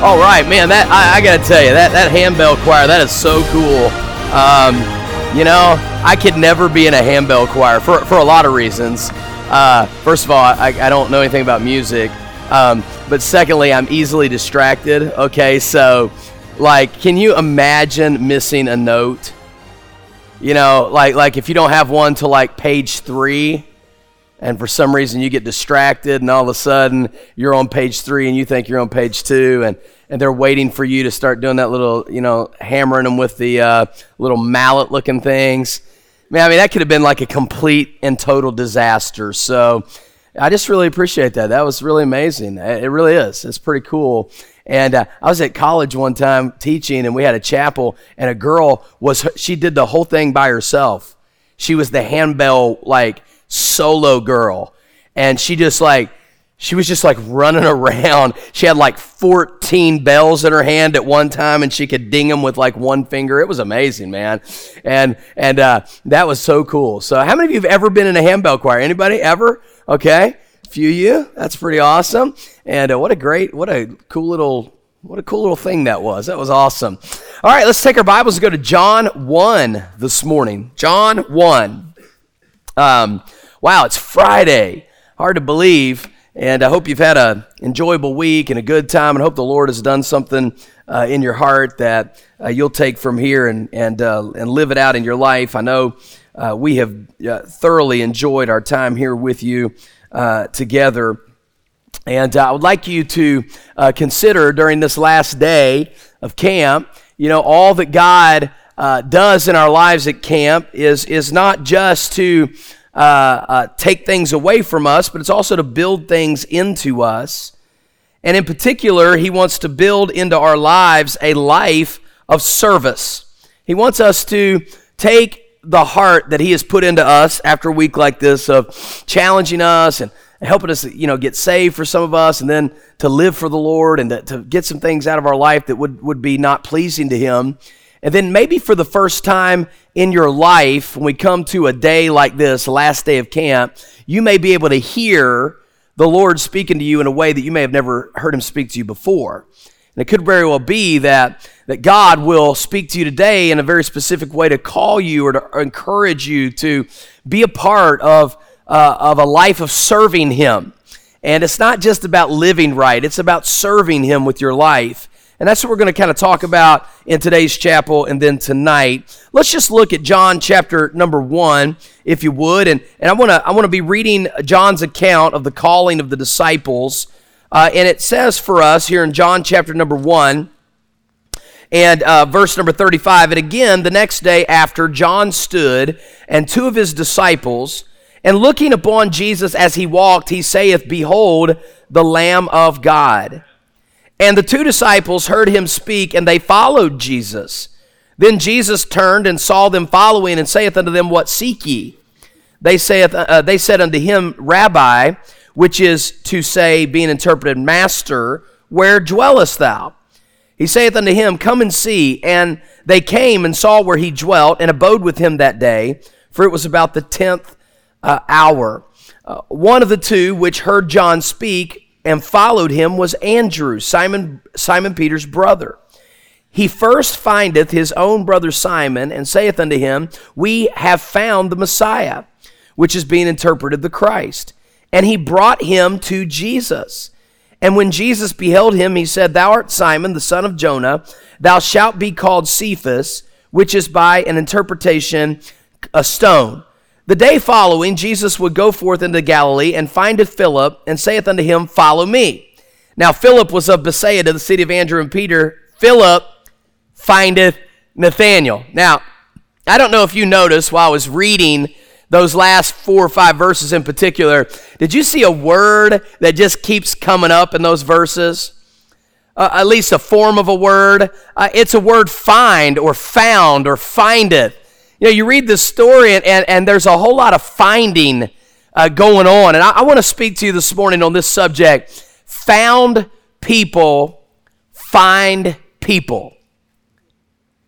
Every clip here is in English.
All right, man. That I got to tell you, that handbell choir, that is so cool. I could never be in a handbell choir for a lot of reasons. First of all, I don't know anything about music, but secondly, I'm easily distracted. Okay, so can you imagine missing a note? Like if you don't have one till page 3. And for some reason you get distracted and all of a sudden you're on page 3 and you think you're on page 2 and they're waiting for you to start doing that little, hammering them with the little mallet looking things. Man, I mean, that could have been like a complete and total disaster. So I just really appreciate that. That was really amazing. It really is. It's pretty cool. And I was at college one time teaching and we had a chapel and a girl she did the whole thing by herself. She was the handbell solo girl, and she was just running around. She had 14 bells in her hand at one time, and she could ding them with one finger. It was amazing, man. And that was so cool. So how many of you have ever been in a handbell choir? Anybody ever? Okay, a few of you. That's pretty awesome. And what a cool little thing that was. That was awesome. All right, let's take our Bibles and go to John 1 this morning. John 1. Wow, it's Friday. Hard to believe. And I hope you've had an enjoyable week and a good time, and hope the Lord has done something in your heart that you'll take from here and live it out in your life. I know we have thoroughly enjoyed our time here with you together. And I would like you to consider during this last day of camp, all that God does in our lives at camp is not just to take things away from us, but it's also to build things into us. And in particular, he wants to build into our lives a life of service. He wants us to take the heart that he has put into us after a week like this of challenging us and helping us, get saved for some of us, and then to live for the Lord and to get some things out of our life that would be not pleasing to him. And then maybe for the first time in your life, when we come to a day like this, last day of camp, you may be able to hear the Lord speaking to you in a way that you may have never heard him speak to you before. And it could very well be that God will speak to you today in a very specific way to call you or to encourage you to be a part of a life of serving him. And it's not just about living right, it's about serving him with your life. And that's what we're going to kind of talk about in today's chapel and then tonight. Let's just look at John chapter number 1, if you would. And I want to be reading John's account of the calling of the disciples. And it says for us here in John chapter number 1 and verse number 35, and again, the next day after, John stood and 2 of his disciples, and looking upon Jesus as he walked, he saith, Behold, the Lamb of God. And the 2 disciples heard him speak, and they followed Jesus. Then Jesus turned and saw them following, and saith unto them, What seek ye? They said unto him, Rabbi, which is to say, being interpreted, Master, where dwellest thou? He saith unto him, Come and see. And they came and saw where he dwelt, and abode with him that day, for it was about the 10th hour. One of the 2 which heard John speak and followed him was Andrew, Simon Peter's brother. He first findeth his own brother Simon, and saith unto him, We have found the Messiah, which is being interpreted the Christ. And he brought him to Jesus. And when Jesus beheld him, he said, Thou art Simon, the son of Jonah. Thou shalt be called Cephas, which is by an interpretation a stone. The day following, Jesus would go forth into Galilee, and findeth Philip, and saith unto him, Follow me. Now Philip was of Bethsaida, the city of Andrew and Peter. Philip findeth Nathanael. Now, I don't know if you noticed while I was reading those last 4 or 5 verses in particular, did you see a word that just keeps coming up in those verses? At least a form of a word. It's a word find or found or findeth. You read this story and there's a whole lot of finding going on. And I want to speak to you this morning on this subject. Found people find people.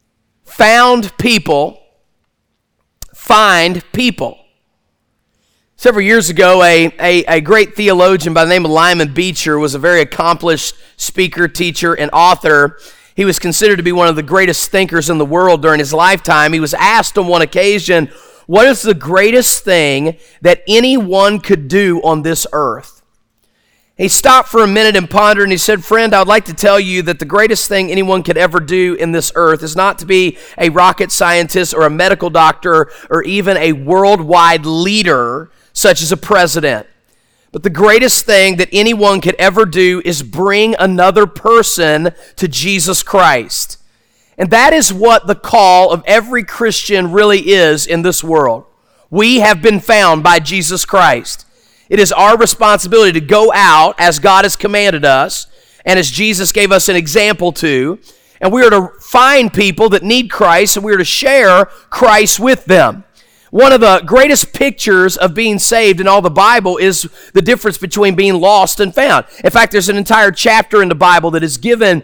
Found people find people. Several years ago, a great theologian by the name of Lyman Beecher was a very accomplished speaker, teacher, and author. He was considered to be one of the greatest thinkers in the world during his lifetime. He was asked on one occasion, what is the greatest thing that anyone could do on this earth? He stopped for a minute and pondered, and he said, friend, I would like to tell you that the greatest thing anyone could ever do in this earth is not to be a rocket scientist or a medical doctor or even a worldwide leader such as a president. But the greatest thing that anyone could ever do is bring another person to Jesus Christ. And that is what the call of every Christian really is in this world. We have been found by Jesus Christ. It is our responsibility to go out as God has commanded us and as Jesus gave us an example to, and we are to find people that need Christ, and we are to share Christ with them. One of the greatest pictures of being saved in all the Bible is the difference between being lost and found. In fact, there's an entire chapter in the Bible that is given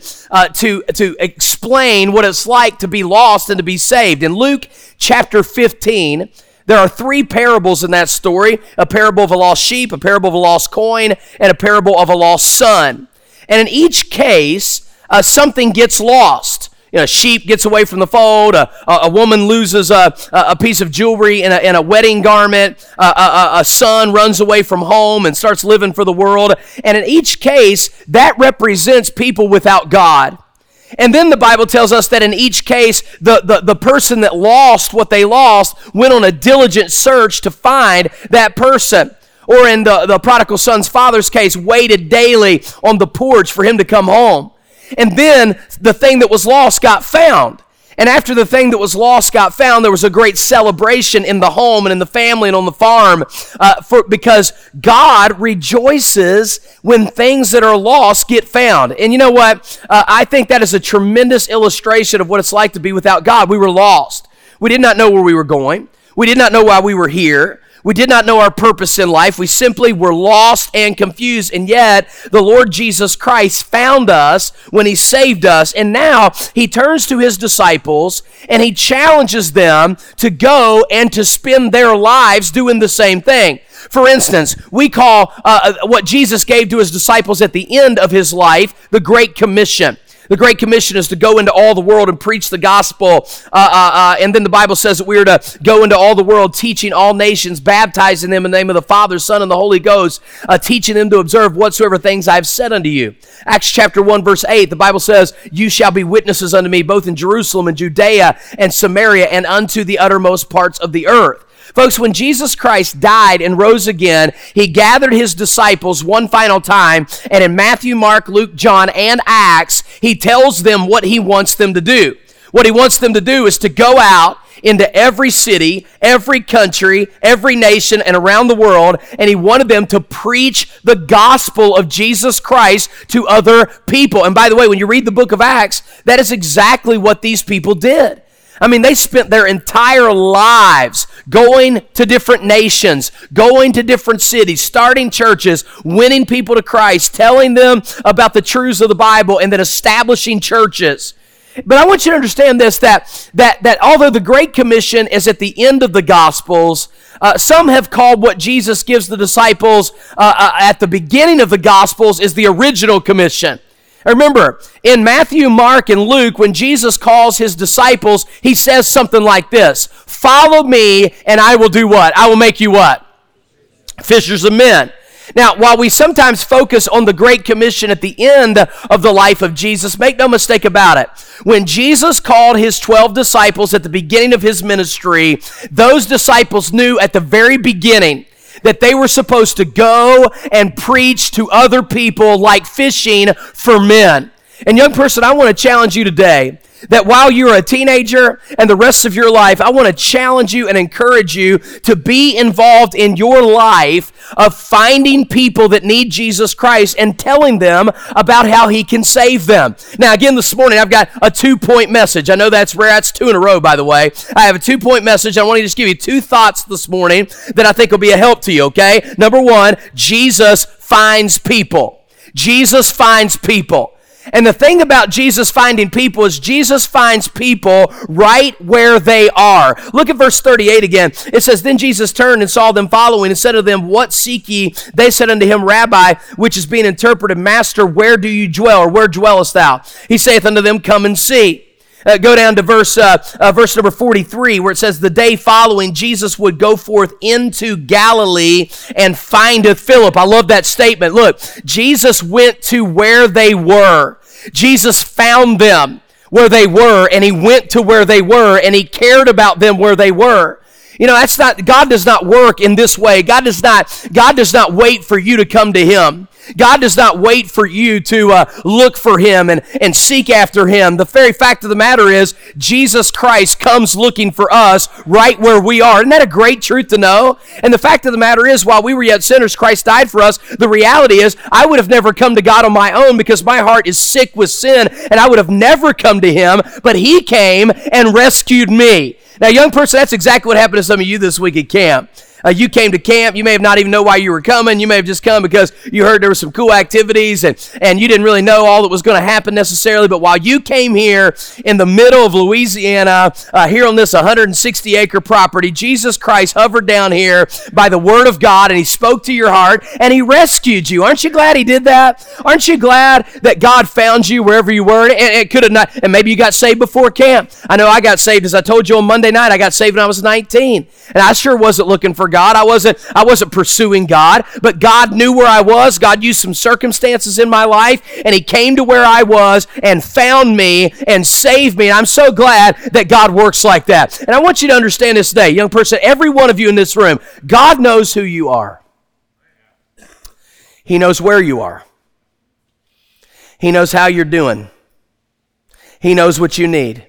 to explain what it's like to be lost and to be saved. In Luke chapter 15, there are three parables in that story: a parable of a lost sheep, a parable of a lost coin, and a parable of a lost son. And in each case, something gets lost. You know, a sheep gets away from the fold, a woman loses a piece of jewelry in a wedding garment, a son runs away from home and starts living for the world. And in each case, that represents people without God. And then the Bible tells us that in each case, the person that lost what they lost went on a diligent search to find that person. Or in the prodigal son's father's case, waited daily on the porch for him to come home. And then the thing that was lost got found. And after the thing that was lost got found, there was a great celebration in the home and in the family and on the farm because God rejoices when things that are lost get found. And you know what? I think that is a tremendous illustration of what it's like to be without God. We were lost. We did not know where we were going. We did not know why we were here. We did not know our purpose in life. We simply were lost and confused. And yet, the Lord Jesus Christ found us when He saved us. And now, He turns to His disciples and He challenges them to go and to spend their lives doing the same thing. For instance, we call what Jesus gave to His disciples at the end of His life the Great Commission. The Great Commission is to go into all the world and preach the gospel. And then the Bible says that we are to go into all the world, teaching all nations, baptizing them in the name of the Father, Son, and the Holy Ghost, teaching them to observe whatsoever things I have said unto you. Acts chapter 1, verse 8, the Bible says, you shall be witnesses unto me both in Jerusalem and Judea and Samaria and unto the uttermost parts of the earth. Folks, when Jesus Christ died and rose again, He gathered His disciples one final time, and in Matthew, Mark, Luke, John, and Acts, He tells them what He wants them to do. What He wants them to do is to go out into every city, every country, every nation, and around the world, and He wanted them to preach the gospel of Jesus Christ to other people. And by the way, when you read the book of Acts, that is exactly what these people did. I mean, they spent their entire lives going to different nations, going to different cities, starting churches, winning people to Christ, telling them about the truths of the Bible, and then establishing churches. But I want you to understand this, that although the Great Commission is at the end of the Gospels, some have called what Jesus gives the disciples at the beginning of the Gospels is the original commission. Remember, in Matthew, Mark, and Luke, when Jesus calls His disciples, He says something like this: follow me, and I will do what? I will make you what? Fishers of men. Now, while we sometimes focus on the Great Commission at the end of the life of Jesus, make no mistake about it. When Jesus called His 12 disciples at the beginning of His ministry, those disciples knew at the very beginning that they were supposed to go and preach to other people like fishing for men. And young person, I want to challenge you today that while you're a teenager and the rest of your life, I want to challenge you and encourage you to be involved in your life of finding people that need Jesus Christ and telling them about how He can save them. Now, again, this morning, I've got a 2-point message. I know that's rare. That's 2 in a row, by the way. I have a 2-point message. I want to just give you 2 thoughts this morning that I think will be a help to you, okay? Number 1, Jesus finds people. Jesus finds people. And the thing about Jesus finding people is Jesus finds people right where they are. Look at verse 38 again. It says, Then Jesus turned and saw them following and said to them, What seek ye? They said unto him, Rabbi, which is being interpreted, Master, where do you dwell, or where dwellest thou? He saith unto them, Come and see. Go down to verse number 43, where it says, The day following, Jesus would go forth into Galilee and findeth Philip. I love that statement. Look, Jesus went to where they were. Jesus found them where they were, and he went to where they were, and he cared about them where they were. You know, God does not work in this way. God does not wait for you to come to him. God does not wait for you to look for him and seek after him. The very fact of the matter is, Jesus Christ comes looking for us right where we are. Isn't that a great truth to know? And the fact of the matter is, while we were yet sinners, Christ died for us. The reality is, I would have never come to God on my own because my heart is sick with sin, and I would have never come to him, but he came and rescued me. Now, young person, that's exactly what happened to some of you this week at camp. You came to camp. You may have not even know why you were coming. You may have just come because you heard there were some cool activities and you didn't really know all that was going to happen necessarily. But while you came here in the middle of Louisiana, here on this 160-acre property, Jesus Christ hovered down here by the Word of God, and he spoke to your heart, and he rescued you. Aren't you glad he did that? Aren't you glad that God found you wherever you were? And it could have not, and maybe you got saved before camp. I know I got saved, as I told you on Monday night. I got saved when I was 19, and I sure wasn't looking for God. I wasn't pursuing God, but God knew where I was. God used some circumstances in my life, and he came to where I was and found me and saved me. And I'm so glad that God works like that. And I want you to understand this today, young person, every one of you in this room, God knows who you are. He knows where you are. He knows how you're doing. He knows what you need.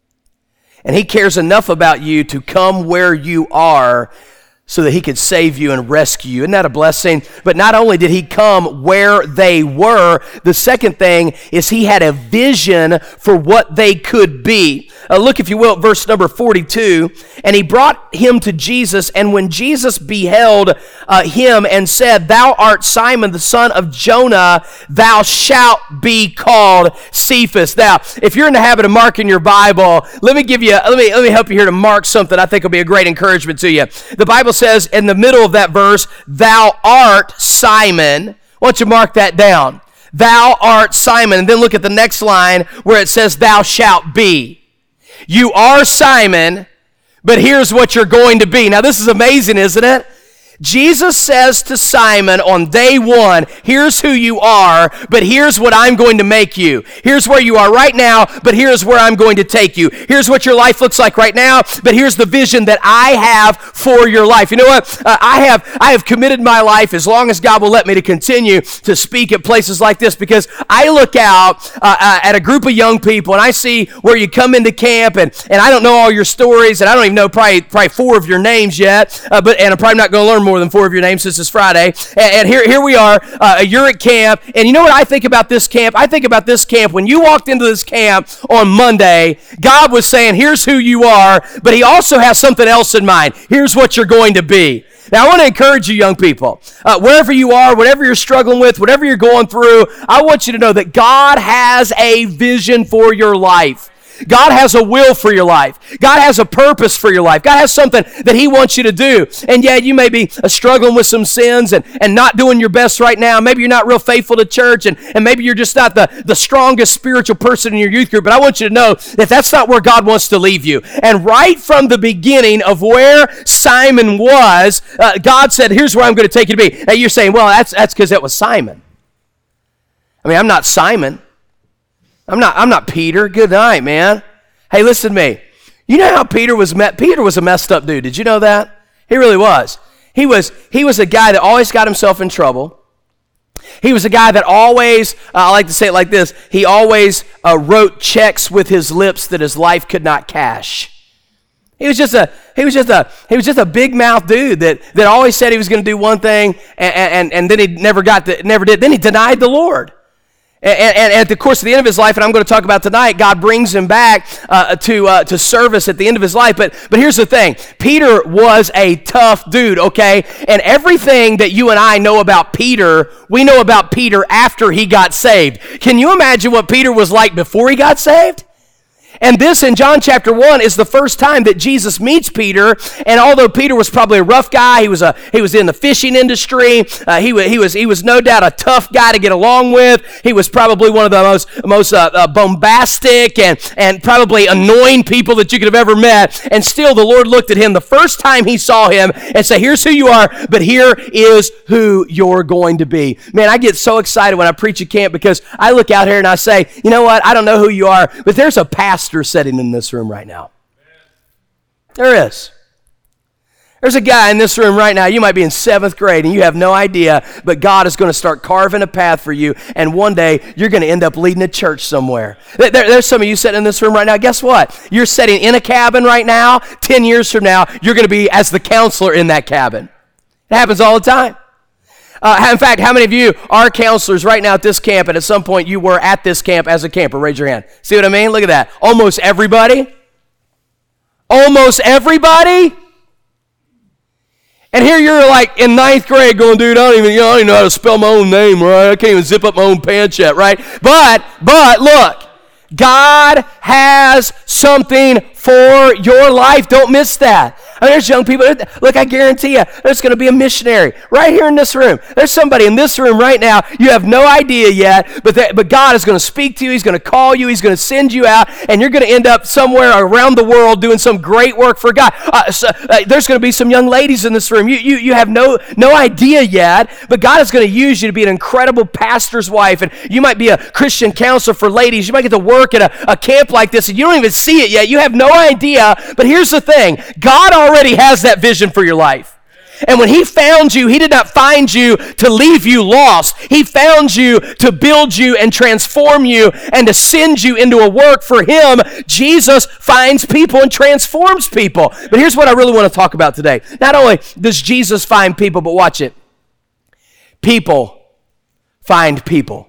And he cares enough about you to come where you are so that he could save you and rescue you. Isn't that a blessing? But not only did he come where they were, the second thing is he had a vision for what they could be. Look, if you will, at verse number 42. And he brought him to Jesus, and when Jesus beheld him and said, Thou art Simon, the son of Jonah, thou shalt be called Cephas. Now, if you're in the habit of marking your Bible, let me help you here to mark something I think will be a great encouragement to you. The Bible says in the middle of that verse, Thou art Simon. Why don't you mark that down? Thou art Simon. And then look at the next line where it says, Thou shalt be. You are Simon, but here's what you're going to be. Now, this is amazing, isn't it? Jesus says to Simon on day one, here's who you are, but here's what I'm going to make you. Here's where you are right now, but here's where I'm going to take you. Here's what your life looks like right now, but here's the vision that I have for your life. You know what? I have committed my life, as long as God will let me, to continue to speak at places like this, because I look out at a group of young people, and I see where you come into camp, and I don't know all your stories, and I don't even know probably 4 of your names yet, and I'm probably not going to learn more than 4 of your names since it's Friday. And here we are. You're at camp. And you know what I think about this camp? I think about this camp. When you walked into this camp on Monday, God was saying, here's who you are, but he also has something else in mind. Here's what you're going to be. Now, I want to encourage you, young people, wherever you are, whatever you're struggling with, whatever you're going through, I want you to know that God has a vision for your life. God has a will for your life. God has a purpose for your life. God has something that he wants you to do. And yeah, you may be struggling with some sins and not doing your best right now. Maybe you're not real faithful to church, and maybe you're just not the strongest spiritual person in your youth group. But I want you to know that that's not where God wants to leave you. And right from the beginning of where Simon was, God said, here's where I'm going to take you to be. Now you're saying, well, that's because it was Simon. I mean, I'm not Simon. I'm not Peter. Good night, man. Hey, listen to me. You know how Peter was met? Peter was a messed up dude. Did you know that? He really was. He was a guy that always got himself in trouble. He was a guy that always, I like to say it like this, he always wrote checks with his lips that his life could not cash. He was just a big mouth dude that always said he was going to do one thing and then he never did. Then he denied the Lord. And at the course of the end of his life, and I'm going to talk about tonight, God brings him back to service at the end of his life. But here's the thing. Peter was a tough dude, okay? And everything that you and I know about Peter, we know about Peter after he got saved. Can you imagine what Peter was like before he got saved? And this in John chapter 1 is the first time that Jesus meets Peter. And although Peter was probably a rough guy, he was in the fishing industry. He was no doubt a tough guy to get along with. He was probably one of the most bombastic and probably annoying people that you could have ever met. And still, the Lord looked at him the first time he saw him and said, "Here's who you are, but here is who you're going to be." Man, I get so excited when I preach at camp because I look out here and I say, you know what? I don't know who you are, but there's a pastor sitting in this room right now. There is. There's a guy in this room right now. You might be in 7th grade and you have no idea, but God is going to start carving a path for you, and one day you're going to end up leading a church somewhere. There's some of you sitting in this room right now. Guess what? You're sitting in a cabin right now. 10 years from now, you're going to be as the counselor in that cabin. It happens all the time. In fact, how many of you are counselors right now at this camp, and at some point you were at this camp as a camper? Raise your hand. See what I mean? Look at that. Almost everybody. Almost everybody. And here you're like in 9th grade going, dude, I don't even know how to spell my own name, right? I can't even zip up my own pants yet, right? But look, God has something for your life. Don't miss that. I mean, there's young people. Look, I guarantee you, there's going to be a missionary right here in this room. There's somebody in this room right now. You have no idea yet, but God is going to speak to you. He's going to call you. He's going to send you out, and you're going to end up somewhere around the world doing some great work for God. There's going to be some young ladies in this room. You have no idea yet, but God is going to use you to be an incredible pastor's wife, and you might be a Christian counselor for ladies. You might get to work at a camp like this, and you don't even see it yet. You have no idea, but here's the thing. God already has that vision for your life. And when he found you, he did not find you to leave you lost. He found you to build you and transform you and to send you into a work for him. Jesus finds people and transforms people. But here's what I really want to talk about today. Not only does Jesus find people, but watch it. People find people.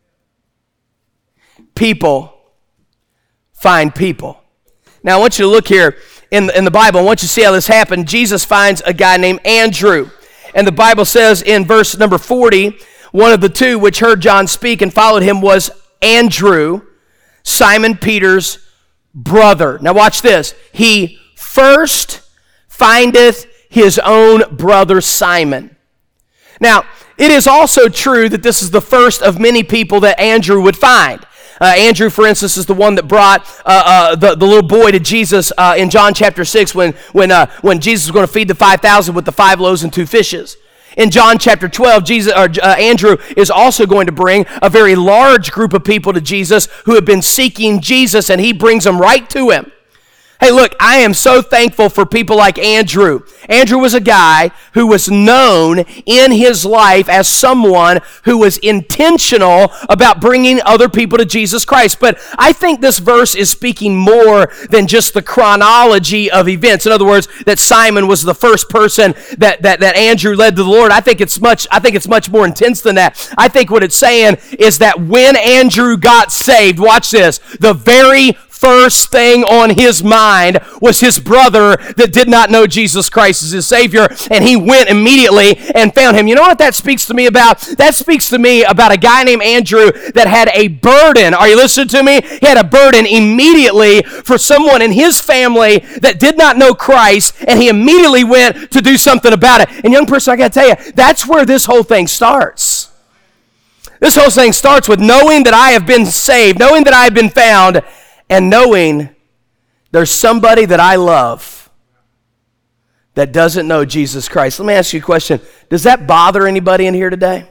People find people. Now I want you to look here in the Bible. I want you to see how this happened. Jesus finds a guy named Andrew. And the Bible says in verse number 40, one of the two which heard John speak and followed him was Andrew, Simon Peter's brother. Now watch this. He first findeth his own brother Simon. Now, it is also true that this is the first of many people that Andrew would find. Andrew, for instance, is the one that brought the little boy to Jesus in John chapter 6 when Jesus was going to feed the 5,000 with the 5 loaves and 2 fishes. In John chapter 12, Andrew is also going to bring a very large group of people to Jesus who have been seeking Jesus, and he brings them right to him. Hey, look, I am so thankful for people like Andrew. Andrew was a guy who was known in his life as someone who was intentional about bringing other people to Jesus Christ. But I think this verse is speaking more than just the chronology of events. In other words, that Simon was the first person that Andrew led to the Lord. I think it's much more intense than that. I think what it's saying is that when Andrew got saved, watch this, the very first thing on his mind was his brother that did not know Jesus Christ as his Savior, and he went immediately and found him. You know what that speaks to me about? That speaks to me about a guy named Andrew that had a burden. Are you listening to me? He had a burden immediately for someone in his family that did not know Christ, and he immediately went to do something about it. And young person, I got to tell you, that's where this whole thing starts. This whole thing starts with knowing that I have been saved, knowing that I have been found, and knowing there's somebody that I love that doesn't know Jesus Christ. Let me ask you a question. Does that bother anybody in here today?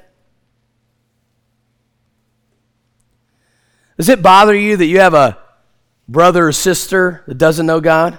Does it bother you that you have a brother or sister that doesn't know God?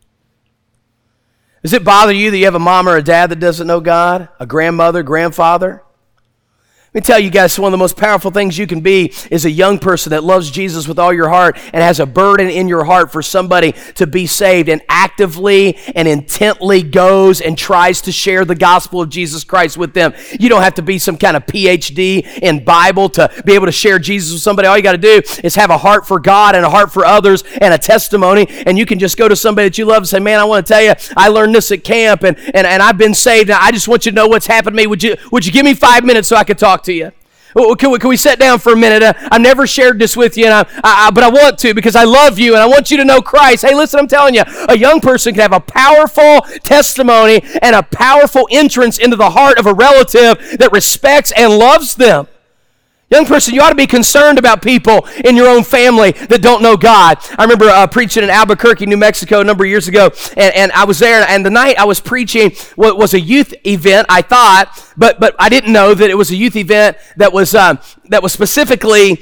Does it bother you that you have a mom or a dad that doesn't know God? A grandmother, grandfather? Let me tell you guys, one of the most powerful things you can be is a young person that loves Jesus with all your heart and has a burden in your heart for somebody to be saved and actively and intently goes and tries to share the gospel of Jesus Christ with them. You don't have to be some kind of PhD in Bible to be able to share Jesus with somebody. All you got to do is have a heart for God and a heart for others and a testimony, and you can just go to somebody that you love and say, man, I want to tell you, I learned this at camp, and I've been saved, and I just want you to know what's happened to me. Would you give me 5 minutes so I could talk to you? Can we sit down for a minute? I've never shared this with you, but I want to because I love you and I want you to know Christ. Hey, listen, I'm telling you, a young person can have a powerful testimony and a powerful entrance into the heart of a relative that respects and loves them. Young person, you ought to be concerned about people in your own family that don't know God. I remember preaching in Albuquerque, New Mexico a number of years ago, and I was there, and the night I was preaching was a youth event, I thought, but I didn't know that it was a youth event that was specifically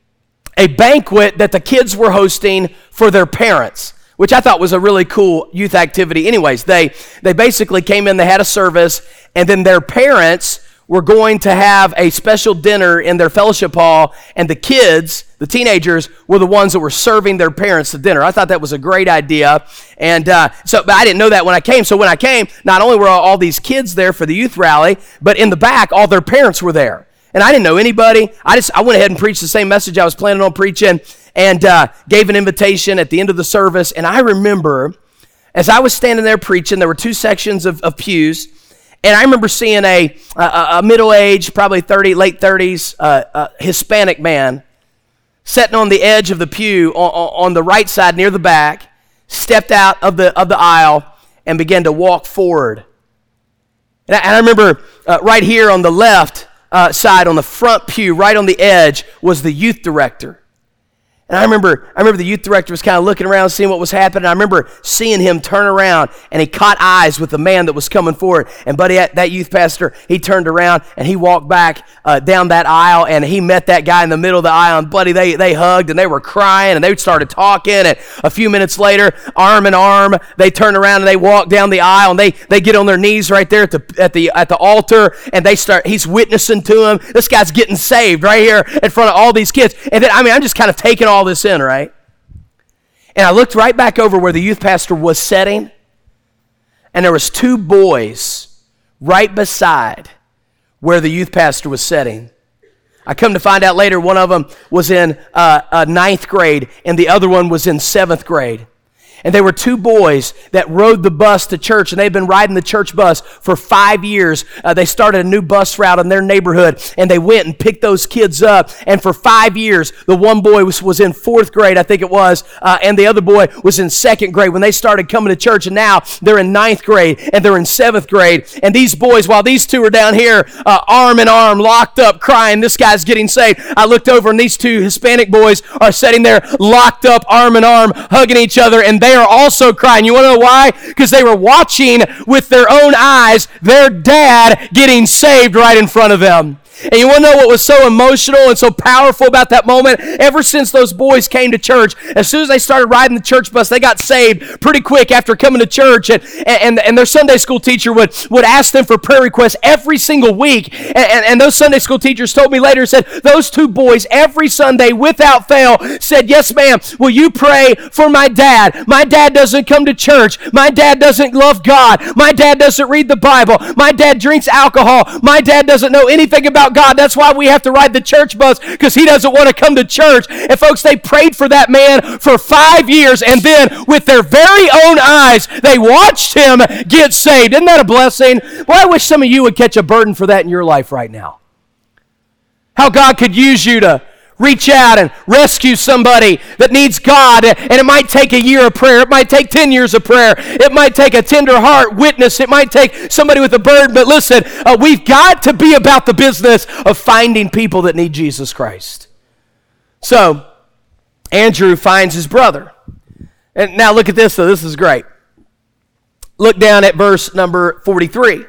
a banquet that the kids were hosting for their parents, which I thought was a really cool youth activity. Anyways, they basically came in, they had a service, and then their parents were going to have a special dinner in their fellowship hall, and the kids, the teenagers, were the ones that were serving their parents the dinner. I thought that was a great idea, and but I didn't know that when I came. So when I came, not only were all these kids there for the youth rally, but in the back, all their parents were there. And I didn't know anybody. I went ahead and preached the same message I was planning on preaching, and gave an invitation at the end of the service. And I remember, as I was standing there preaching, there were two sections of pews. And I remember seeing a middle-aged, probably late 30s, Hispanic man sitting on the edge of the pew on the right side near the back, stepped out of the aisle and began to walk forward. And I remember right here on the left side, on the front pew, right on the edge, was the youth director. And I remember the youth director was kind of looking around, seeing what was happening. I remember seeing him turn around, and he caught eyes with the man that was coming forward. And buddy, that youth pastor, he turned around, and he walked back down that aisle, and he met that guy in the middle of the aisle. And buddy, they hugged, and they were crying, and they started talking. And a few minutes later, arm in arm, they turned around, and they walked down the aisle, and they get on their knees right there at the altar, and he's witnessing to him. This guy's getting saved right here in front of all these kids. And then, I'm just kind of taking all this in, right? And I looked right back over where the youth pastor was sitting, and there was two boys right beside where the youth pastor was sitting. I come to find out later, one of them was in ninth grade, and the other one was in 7th grade. And they were two boys that rode the bus to church, and they've been riding the church bus for 5 years. They started a new bus route in their neighborhood, and they went and picked those kids up. And for 5 years, the one boy was in 4th grade, I think it was, and the other boy was in 2nd grade when they started coming to church. And now they're in 9th grade, and they're in 7th grade. And these boys, while these two are down here, arm in arm, locked up, crying, this guy's getting saved. I looked over, and these two Hispanic boys are sitting there, locked up, arm in arm, hugging each other, and they are also crying. You want to know why? Because they were watching with their own eyes their dad getting saved right in front of them. And you want to know what was so emotional and so powerful about that moment? Ever since those boys came to church, as soon as they started riding the church bus, they got saved pretty quick after coming to church. And their Sunday school teacher would ask them for prayer requests every single week. And those Sunday school teachers told me later, said, those two boys every Sunday without fail said, yes, ma'am, will you pray for my dad? My dad doesn't come to church. My dad doesn't love God. My dad doesn't read the Bible. My dad drinks alcohol. My dad doesn't know anything about God. That's why we have to ride the church bus, because he doesn't want to come to church. And folks, they prayed for that man for 5 years, and then with their very own eyes, they watched him get saved. Isn't that a blessing? Boy, I wish some of you would catch a burden for that in your life right now. How God could use you to reach out and rescue somebody that needs God, and it might take a year of prayer. It might take 10 years of prayer. It might take a tender heart witness. It might take somebody with a burden. But listen, we've got to be about the business of finding people that need Jesus Christ. So, Andrew finds his brother. And now look at this, though. This is great. Look down at verse number 43.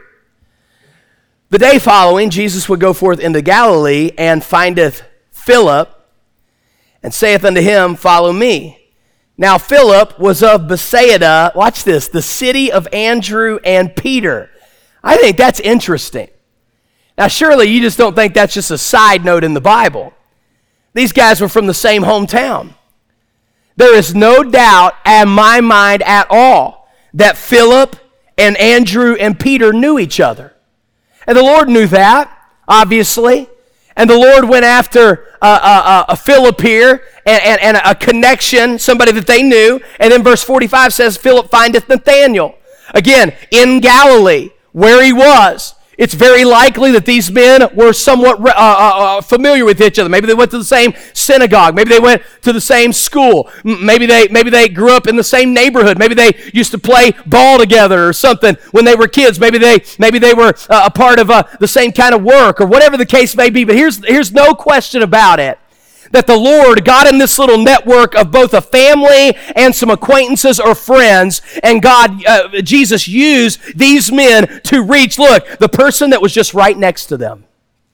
The day following, Jesus would go forth into Galilee, and findeth Philip, and saith unto him, follow me. Now Philip was of Bethsaida, watch this, the city of Andrew and Peter. I think that's interesting. Now, surely you just don't think that's just a side note in the Bible. These guys were from the same hometown. There is no doubt in my mind at all that Philip and Andrew and Peter knew each other. And the Lord knew that, obviously. And the Lord went after a Philip here and a connection, somebody that they knew. And then verse 45 says, Philip findeth Nathanael. Again, in Galilee, where he was. It's very likely that these men were somewhat familiar with each other. Maybe they went to the same synagogue. Maybe they went to the same school. Maybe they grew up in the same neighborhood. Maybe they used to play ball together or something when they were kids. Maybe they were a part of the same kind of work or whatever the case may be. But here's no question about it, that the Lord got in this little network of both a family and some acquaintances or friends, and Jesus used these men to reach, look, the person that was just right next to them.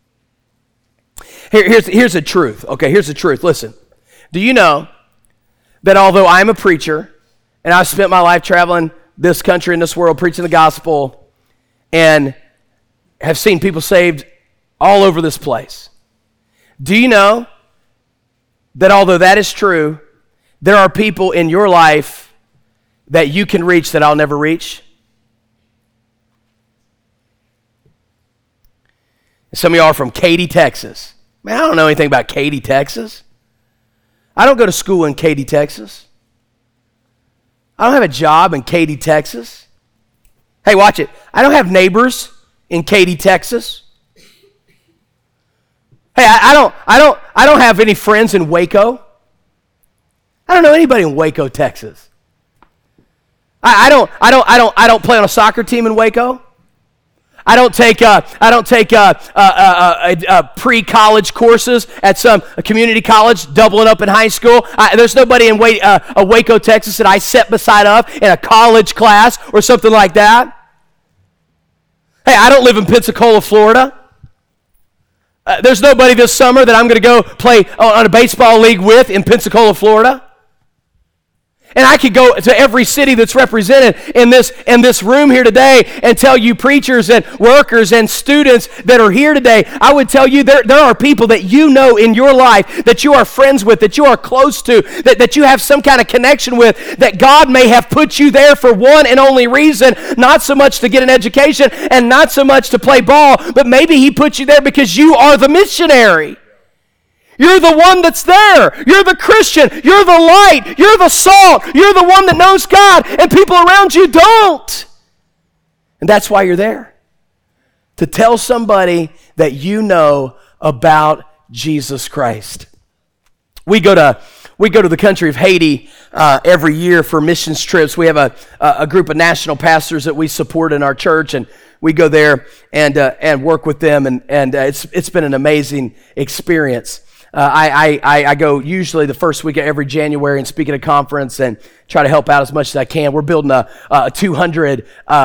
Here's the truth, okay? Here's the truth. Listen, do you know that although I'm a preacher, and I've spent my life traveling this country and this world preaching the gospel, and have seen people saved all over this place, do you know that although that is true, there are people in your life that you can reach that I'll never reach? Some of y'all are from Katy, Texas. Man, I don't know anything about Katy, Texas. I don't go to school in Katy, Texas. I don't have a job in Katy, Texas. Hey, watch it. I don't have neighbors in Katy, Texas. Hey, I don't have any friends in Waco. I don't know anybody in Waco, Texas. I don't play on a soccer team in Waco. I don't take pre-college courses at some community college, doubling up in high school. There's nobody in Waco, Texas that I sat beside of in a college class or something like that. Hey, I don't live in Pensacola, Florida. There's nobody this summer that I'm going to go play on a baseball league with in Pensacola, Florida. And I could go to every city that's represented in this room here today and tell you preachers and workers and students that are here today, I would tell you there are people that you know in your life that you are friends with, that you are close to, that you have some kind of connection with, that God may have put you there for one and only reason, not so much to get an education and not so much to play ball, but maybe He put you there because you are the missionary. You're the one that's there. You're the Christian. You're the light. You're the salt. You're the one that knows God, and people around you don't. And that's why you're there. To tell somebody that you know about Jesus Christ. We go to the country of Haiti every year for missions trips. We have a group of national pastors that we support in our church, and we go there and work with them, and it's been an amazing experience. I go usually the first week of every January and speak at a conference and try to help out as much as I can. We're building a 200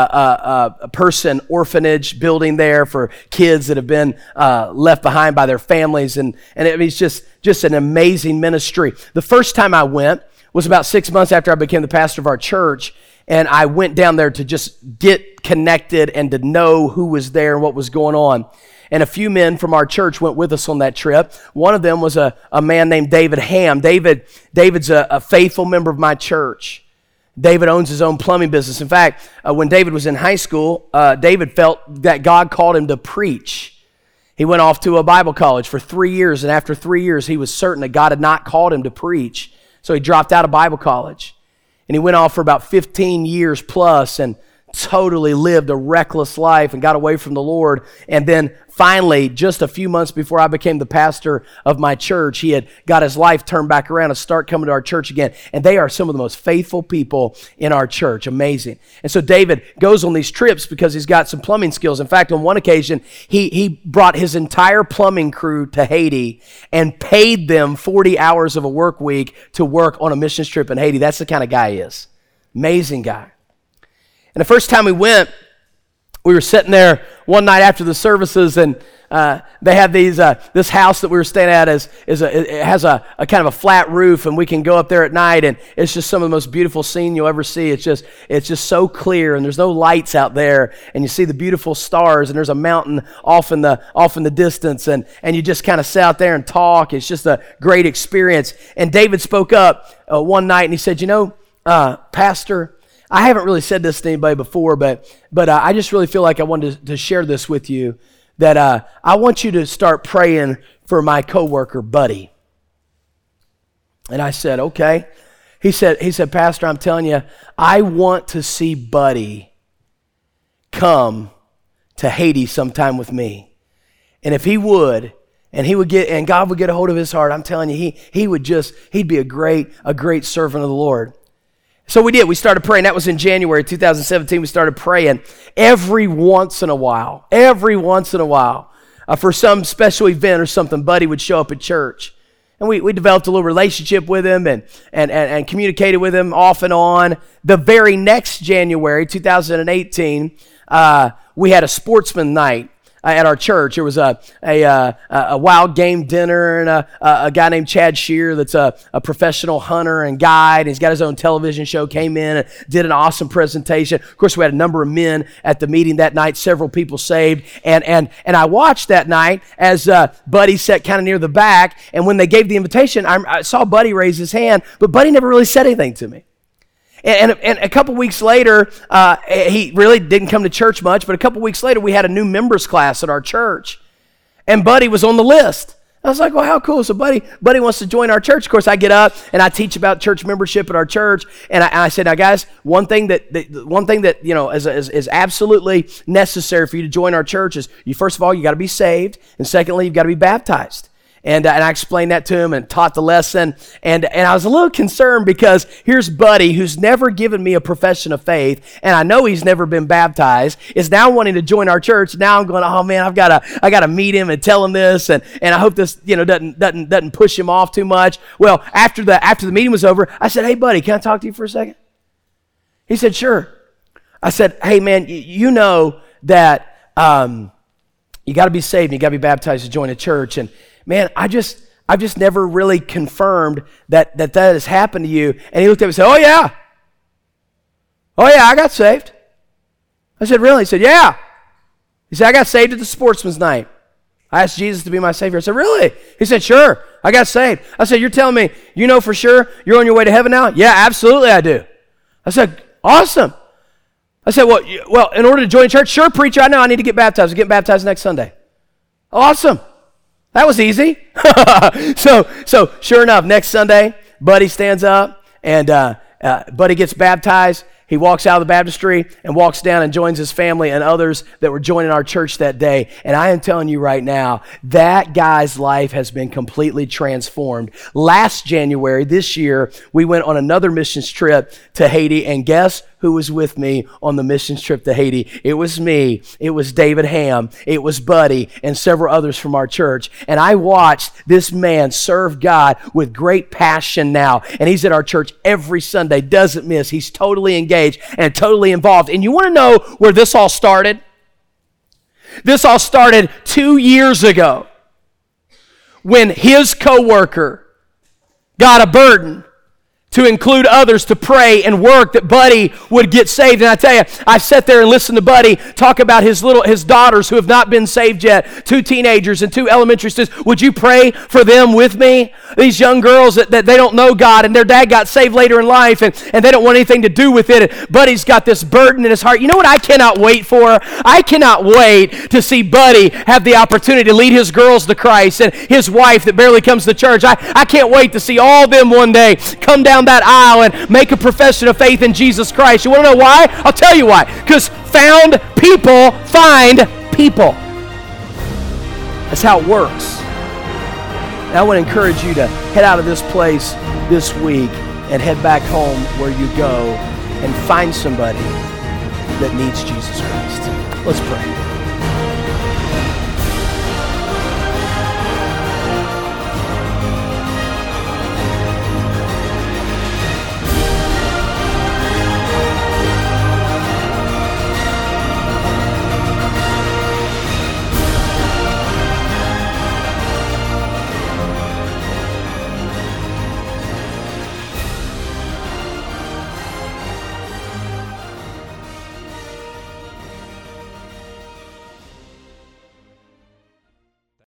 person orphanage building there for kids that have been left behind by their families, and it's just an amazing ministry. The first time I went was about 6 months after I became the pastor of our church, and I went down there to just get connected and to know who was there and what was going on. And a few men from our church went with us on that trip. One of them was a man named David Ham. David's a faithful member of my church. David owns his own plumbing business. In fact, when David was in high school, David felt that God called him to preach. He went off to a Bible college for 3 years, and after 3 years, he was certain that God had not called him to preach. So he dropped out of Bible college. And he went off for about 15 years plus and totally lived a reckless life and got away from the Lord. And then finally, just a few months before I became the pastor of my church, he had got his life turned back around and start coming to our church again. And they are some of the most faithful people in our church. Amazing. And so David goes on these trips because he's got some plumbing skills. In fact, on one occasion, he brought his entire plumbing crew to Haiti and paid them 40 hours of a work week to work on a missions trip in Haiti. That's the kind of guy he is. Amazing guy. And the first time we went, we were sitting there one night after the services, and they have these this house that we were staying at it has a kind of a flat roof, and we can go up there at night, and it's just some of the most beautiful scene you'll ever see. It's just so clear, and there's no lights out there, and you see the beautiful stars, and there's a mountain off in the distance, and you just kind of sit out there and talk. It's just a great experience. And David spoke up one night, and he said, Pastor, I haven't really said this to anybody before, but I just really feel like I wanted to share this with you, that I want you to start praying for my coworker, Buddy. And I said, okay. He said, Pastor, I'm telling you, I want to see Buddy come to Haiti sometime with me. And if he would, and God would get a hold of his heart, I'm telling you, he'd be a great servant of the Lord. So we did. We started praying. That was in January 2017. We started praying every once in a while, for some special event or something, Buddy would show up at church. And we developed a little relationship with him and communicated with him off and on. The very next January 2018, we had a sportsman night at our church. There was a wild game dinner, and a guy named Chad Shear that's a professional hunter and guide. He's got his own television show, came in and did an awesome presentation. Of course, we had a number of men at the meeting that night, several people saved. And I watched that night as Buddy sat kind of near the back, and when they gave the invitation, I saw Buddy raise his hand, but Buddy never really said anything to me. And a couple weeks later, he really didn't come to church much, but a couple weeks later, we had a new members class at our church, and Buddy was on the list. I was like, well, how cool. So Buddy wants to join our church. Of course, I get up, and I teach about church membership at our church, and I said, now, guys, one thing that is absolutely necessary for you to join our church is, first of all, you got to be saved, and secondly, you've got to be baptized. And I explained that to him and taught the lesson. And I was a little concerned because here's Buddy, who's never given me a profession of faith, and I know he's never been baptized, is now wanting to join our church. Now I'm going, oh man, I got to meet him and tell him this, and I hope this doesn't push him off too much. Well, after the meeting was over, I said, hey Buddy, can I talk to you for a second? He said, sure. I said, hey man, you know that you got to be saved and you got to be baptized to join a church, and man, I've just never really confirmed that has happened to you. And he looked at me and said, oh yeah, I got saved. I said, really? He said, yeah. He said, I got saved at the sportsman's night. I asked Jesus to be my Savior. I said, really? He said, sure, I got saved. I said, you're telling me you know for sure you're on your way to heaven now? Yeah, absolutely I do. I said, awesome. I said, well, in order to join church, sure, preacher, I know I need to get baptized. I'm getting baptized next Sunday. Awesome. That was easy. So sure enough, next Sunday, Buddy stands up, and Buddy gets baptized. He walks out of the baptistry and walks down and joins his family and others that were joining our church that day. And I am telling you right now, that guy's life has been completely transformed. Last January, this year, we went on another missions trip to Haiti, and guess who was with me on the missions trip to Haiti? It was me. It was David Ham. It was Buddy and several others from our church. And I watched this man serve God with great passion now. And he's at our church every Sunday, doesn't miss. He's totally engaged and totally involved. And you want to know where this all started? This all started 2 years ago when his coworker got a burden to include others to pray and work that Buddy would get saved. And I tell you, I sat there and listened to Buddy talk about his daughters who have not been saved yet, 2 teenagers and 2 elementary students. Would you pray for them with me? These young girls that they don't know God, and their dad got saved later in life, and they don't want anything to do with it. And Buddy's got this burden in his heart. You know what I cannot wait for? I cannot wait to see Buddy have the opportunity to lead his girls to Christ, and his wife that barely comes to church. I can't wait to see all them one day come down that aisle and make a profession of faith in Jesus Christ. You want to know why? I'll tell you why. Because found people find people. That's how it works. And I want to encourage you to head out of this place this week and head back home where you go and find somebody that needs Jesus Christ. Let's pray.